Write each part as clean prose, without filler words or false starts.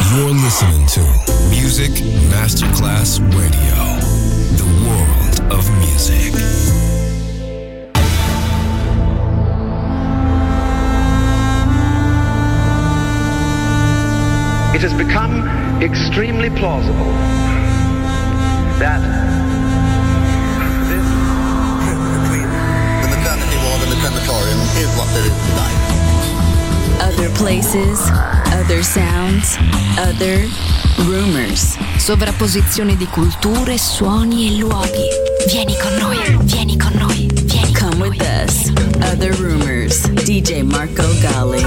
You're listening to Music Masterclass Radio, the world of music. It has become extremely plausible that this trip between the maternity ward and the crematorium is what there is tonight. Other places, other sounds, other rumors. Sovrapposizione di culture, suoni e luoghi. Vieni con noi, vieni con noi, vieni. Come with us. Other rumors. DJ Marco Gally.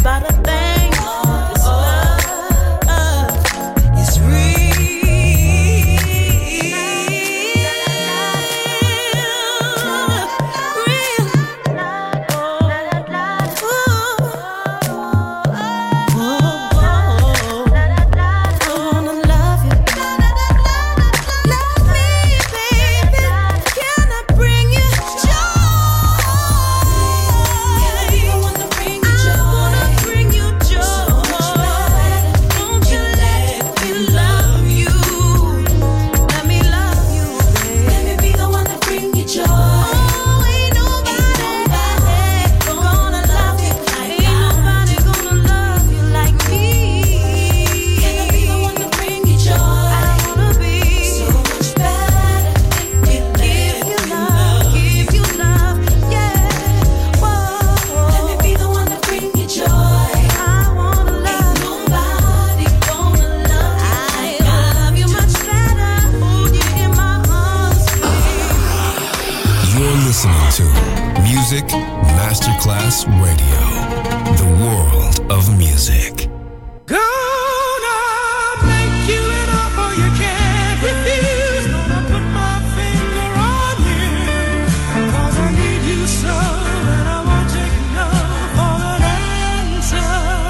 Masterclass Radio, the world of music. Gonna make you an offer you can't refuse. Gonna put my finger on you, 'cause I need you so, and I won't take no for an answer.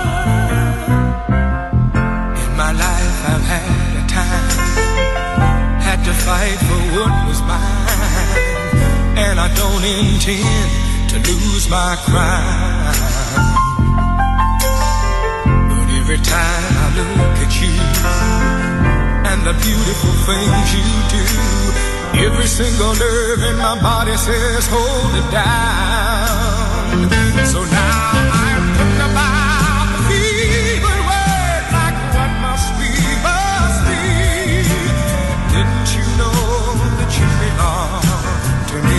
In my life I've had a time, had to fight for what was mine, and I don't intend to lose my crown. But every time I look at you and the beautiful things you do, every single nerve in my body says hold it down. So now I'm thinking about the feeling words like what must be, must be. Didn't you know that you belong to me?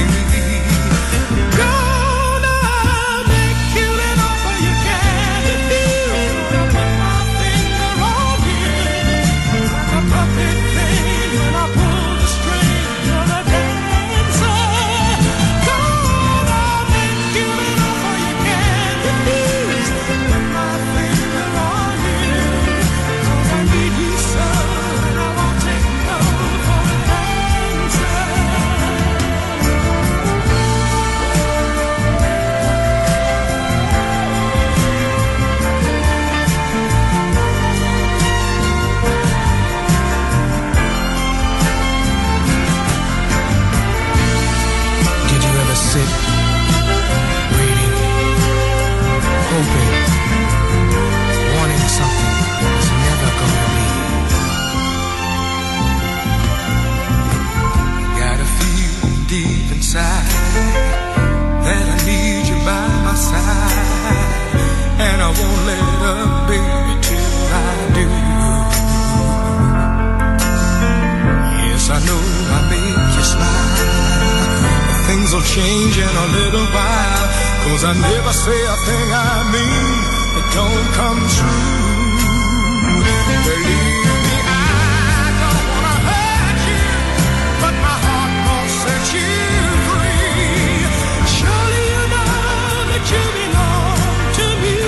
Change in a little while, 'cause I never say a thing I mean that don't come true. Believe me, I don't wanna hurt you, but my heart won't set you free. Surely you know that you belong to me.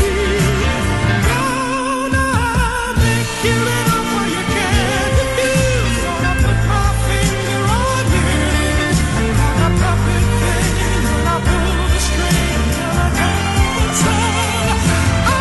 Gonna make you an offer you can't refuse. Gonna put my finger on you. Puppet thing, when I pull the string, you're a dancer.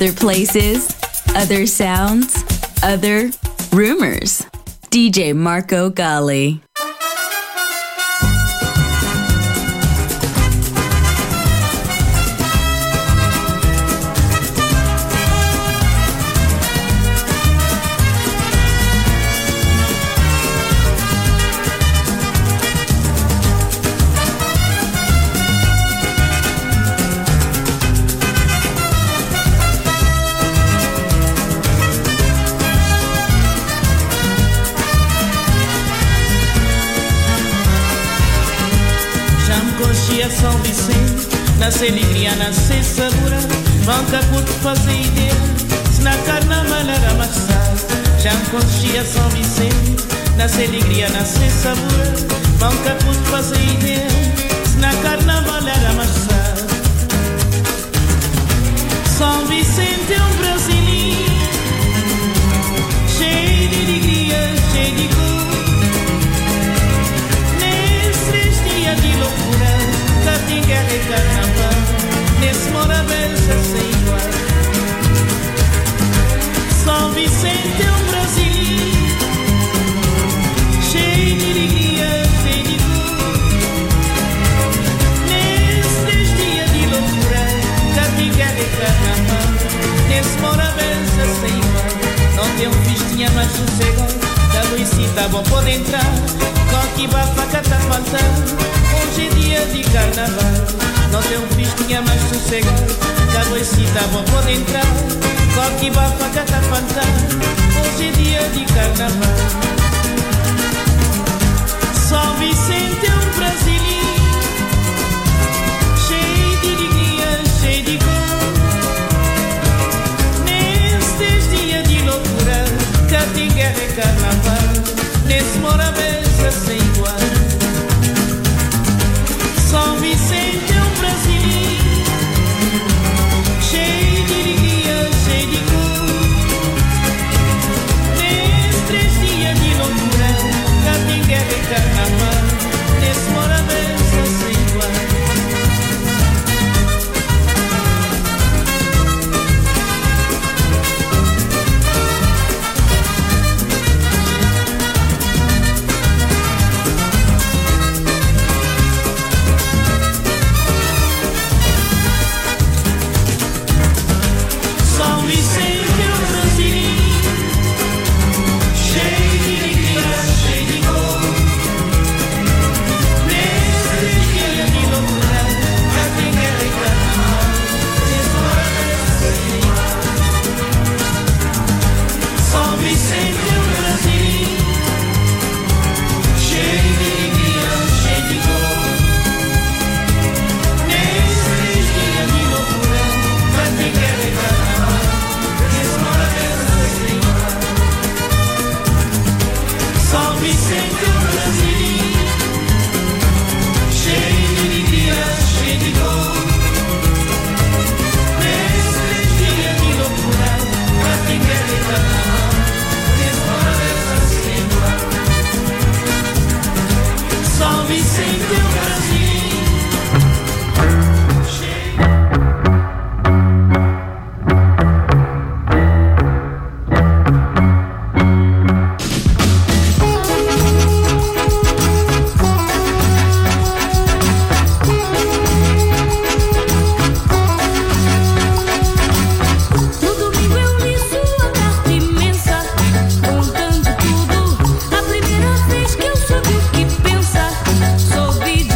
other places, other sounds, other rumors. DJ Marco Gally. São Vicente, nasce alegria, nasce sabor. Manca por fazer ideia, se na carnaval era mais tarde. Já me conhecia São Vicente, nasce alegria, nasce sabor. Manca por fazer ideia, se na carnaval era mais tarde. São Vicente é brasileiro, cheio de alegria, cheio de cor. Nesses dias de loucura, tem guerra e carnaval, nesse Morabeza sem igual. São Vicente é Brasil, cheio de alegria, cheio de cor. Nesses dias de loucura, tem guerra e carnaval, nesse Morabeza sem igual. Não tem festinha mais sossegado, da Luisita bom pode entrar, com que bafaca tá faltando. Hoje é dia de carnaval, não tem festinha mais sossegado, da Luisita bom pode entrar, com que bafaca tá faltando. Hoje é dia de carnaval. São Vicente é brasileiro, cheio de alegria, cheio de cor. Nestes dias de loucura, cá tem guerra e carnaval, nesse Morabeza sem igual. São Vicente é brasileiro, cheio de alegria, cheio de cor. Nestes dias de loucura, cá tem guerra e carnaval, nesse Morabeza sem igual. Soube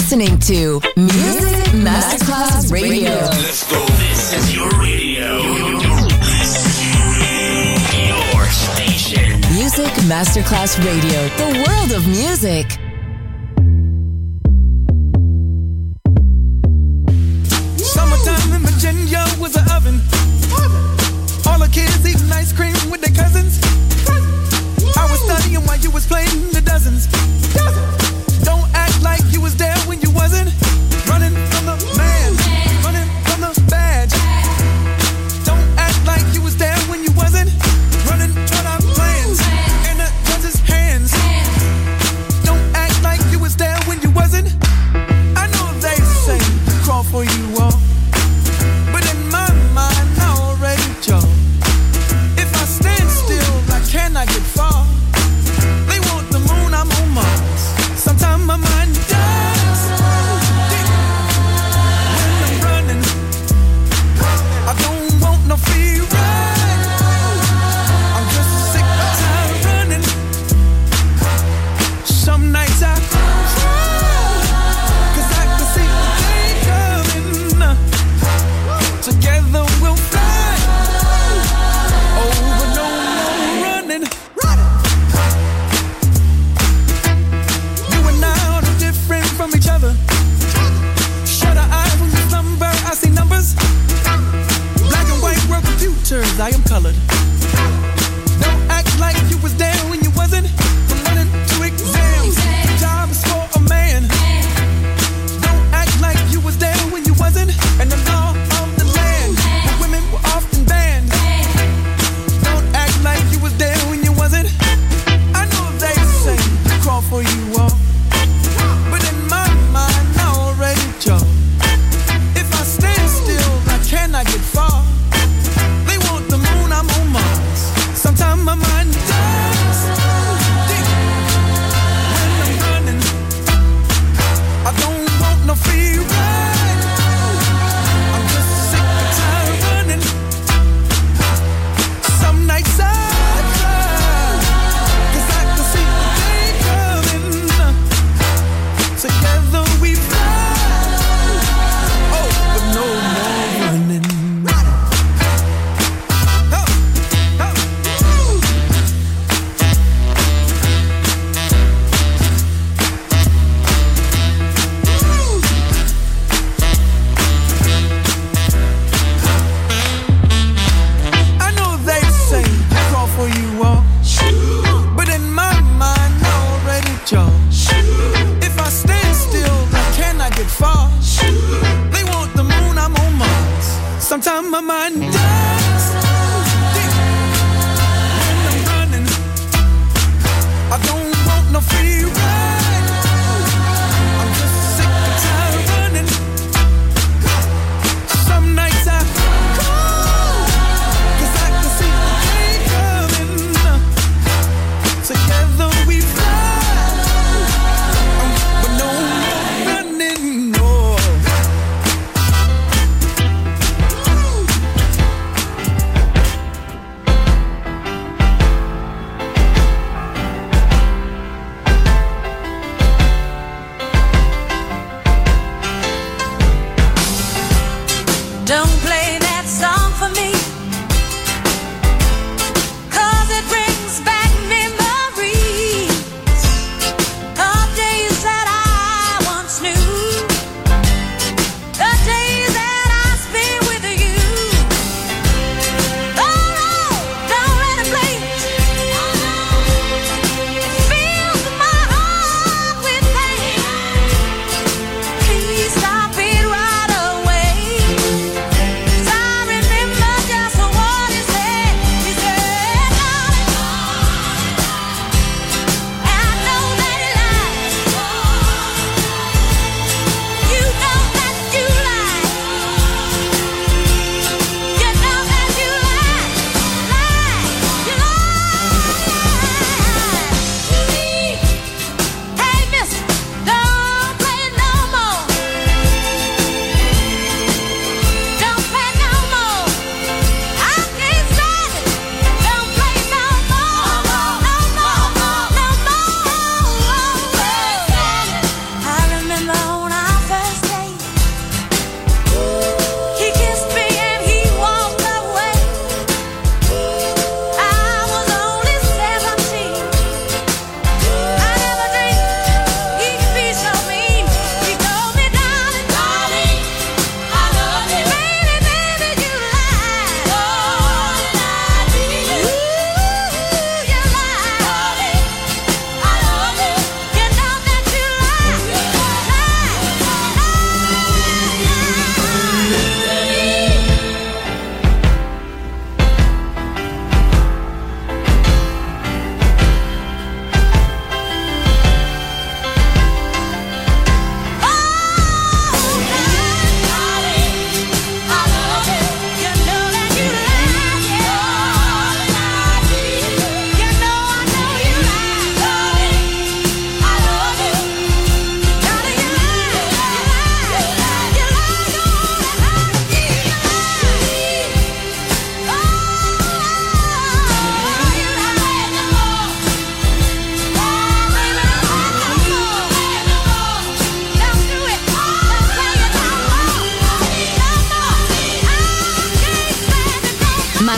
listening to Music Masterclass Radio. Let's go. This is your radio. Your station. Music Masterclass Radio. The world of music. Summertime in Virginia was an oven. All the kids eating ice cream with their cousins. I was studying while you was playing the dozens. Don't act like you was there when you wasn't. Running from the man, running from the badge. Don't act like you was there when you wasn't. Running toward our plans in the judge's hands. Don't act like you was there when you wasn't. I know they say crawl for you all, but in my mind I already chose. If I stand still, I cannot get far. They want the moon, I'm on Mars.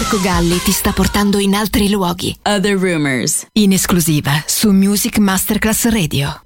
Marco Galli ti sta portando in altri luoghi. Other Rumors, in esclusiva su Music Masterclass Radio.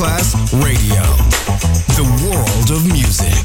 Masterclass Radio. The world of music.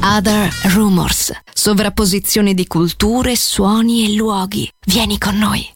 Other Rumors, sovrapposizione di culture, suoni e luoghi. Vieni con noi.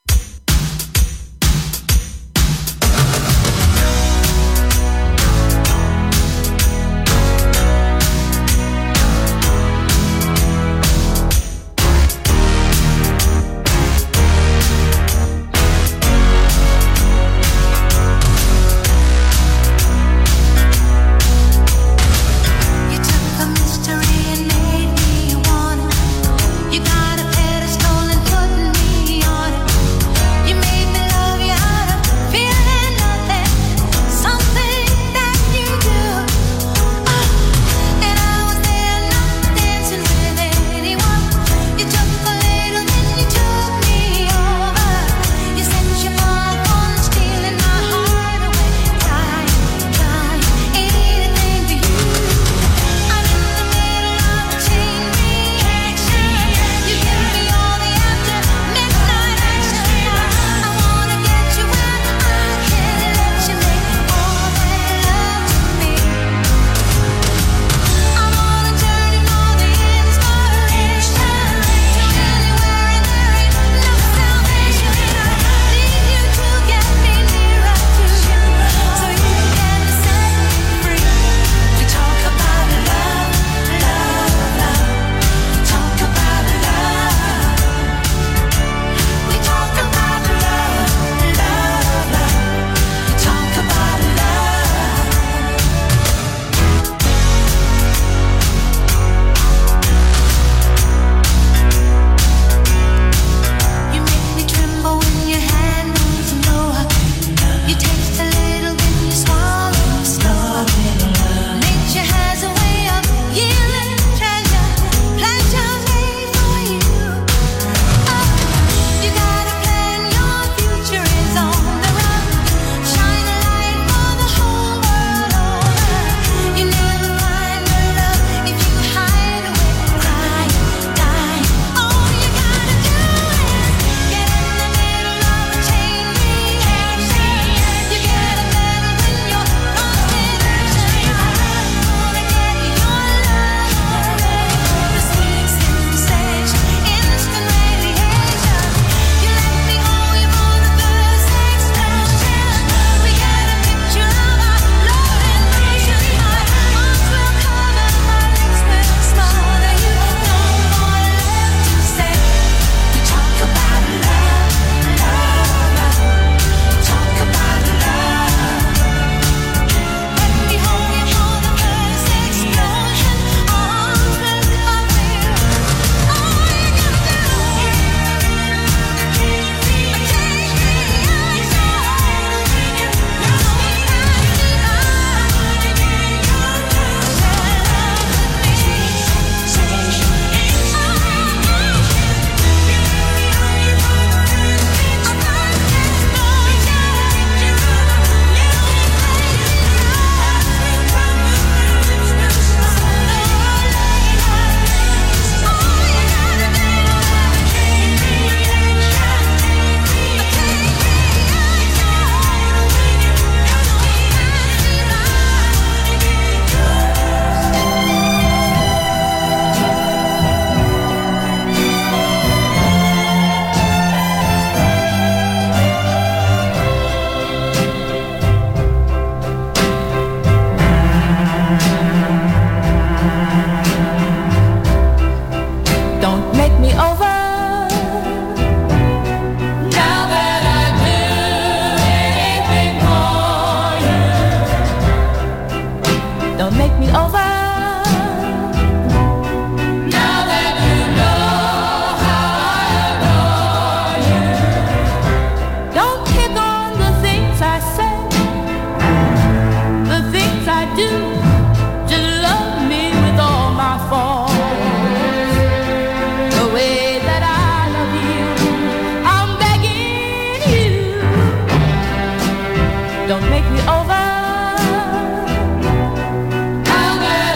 Don't make me over.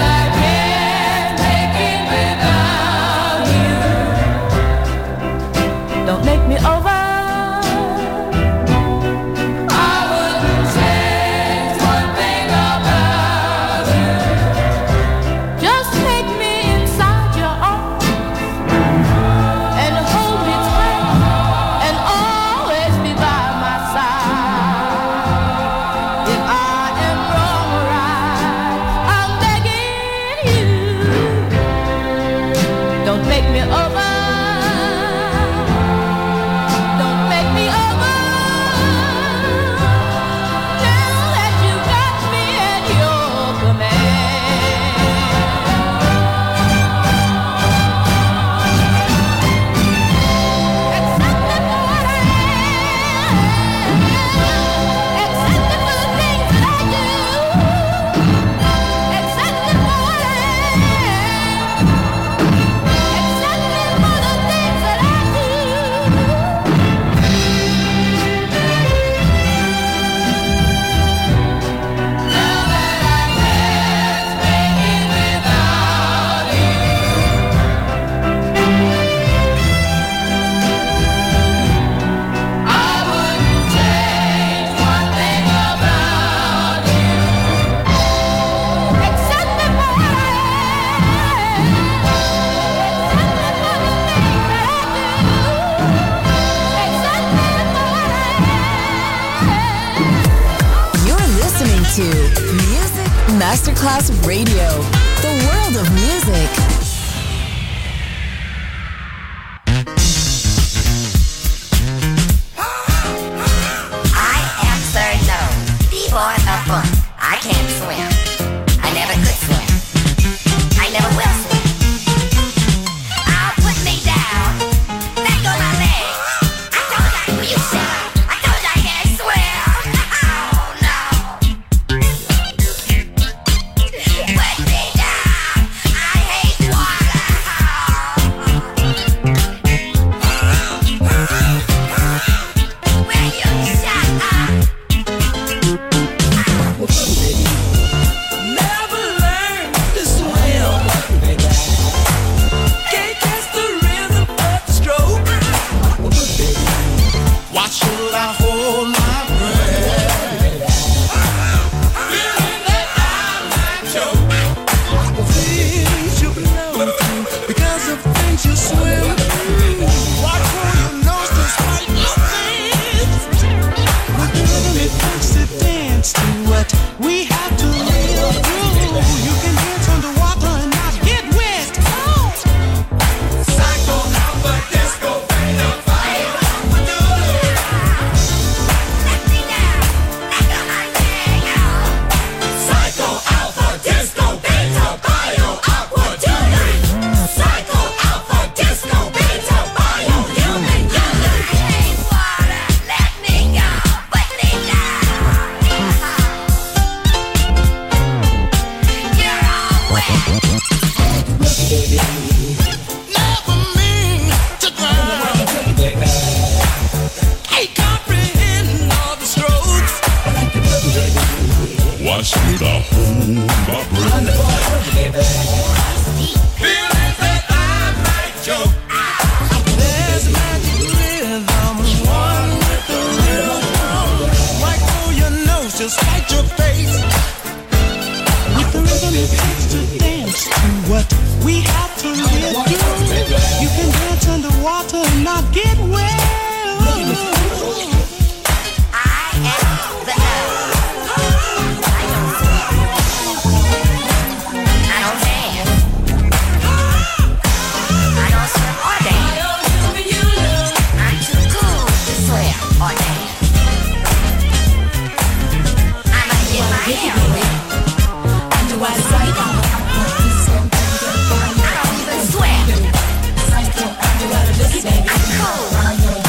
Masterclass Radio, the world of music. I am Sir No, the boy of fun. I can't swim. I never could swim. I never will swim. Put me down. Let go my legs. I told you I can't swim. I told you I can't swim. Oh no. Put me down. I hate water. Will you shut up? Never learned to swim. Can't catch the rhythm of the stroke. Why should I hold my breath? Feeling that I might choke. Things you belong to because of things you swim through. Watch for your nose to spite your fins. With the rhythm it takes to dance to what we have to live through. You can dance underwater and not get wet. Psycho Alpha Disco Beta Fire. Let me down. Let go my leg. Psycho Alpha Disco Beta Bio Aqua Jewelry. Psycho Alpha Disco Beta Bio Human I hate water. Let me go. Put me down. You're all wet. Never mean to drown. Can't comprehend all the strokes. Why should I hold my breath? Feelings that I might choke. There's magic rhythm, one with the rhythm. Right through your nose, just fight your face. With the rhythm it takes to dance to what we have to live through. You can dance underwater and not get wet. I am the L. I don't dance. I don't swim or dance. I'm too cool to swim or dance. I might get my hair wet. I don't even swim. I'm cool.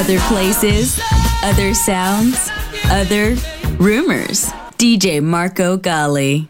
Other places, other sounds, other rumors. DJ Marco Gally.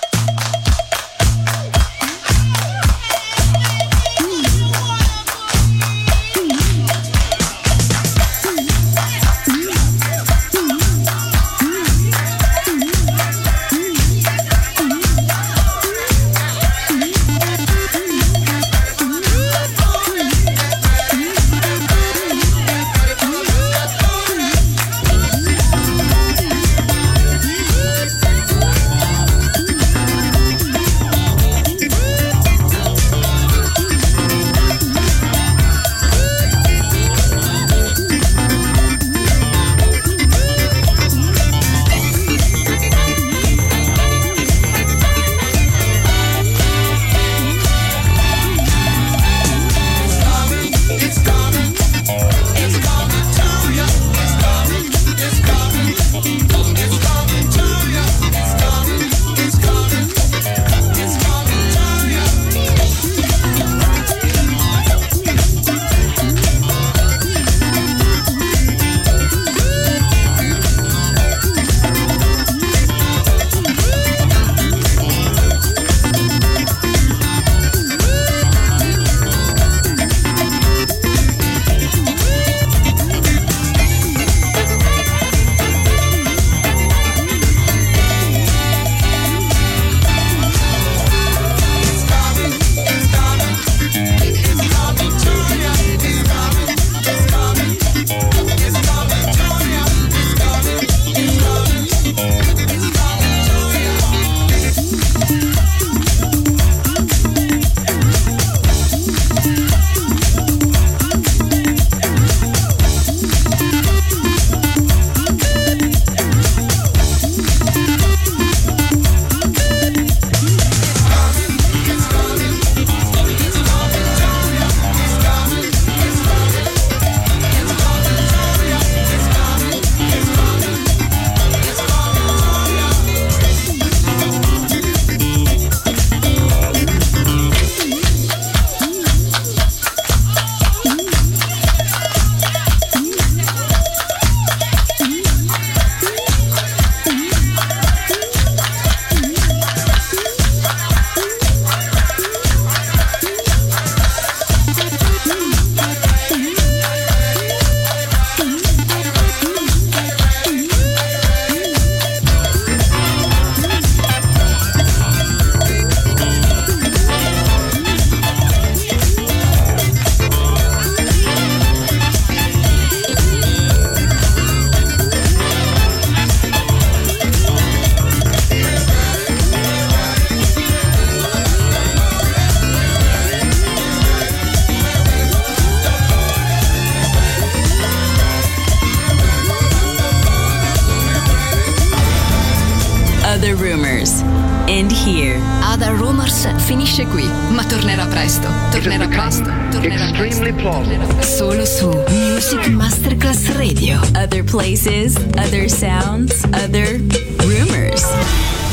Other Rumors. End here. Other Rumors finisce qui, ma tornerà presto. Tornerà presto. Extremely plausible. Solo su Music Masterclass Radio. Other places, other sounds, other rumors.